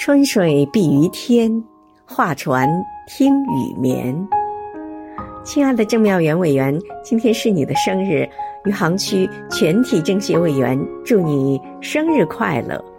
春水碧于天，画船听雨眠。亲爱的郑妙媛委员，今天是你的生日，余杭区全体政协委员祝你生日快乐。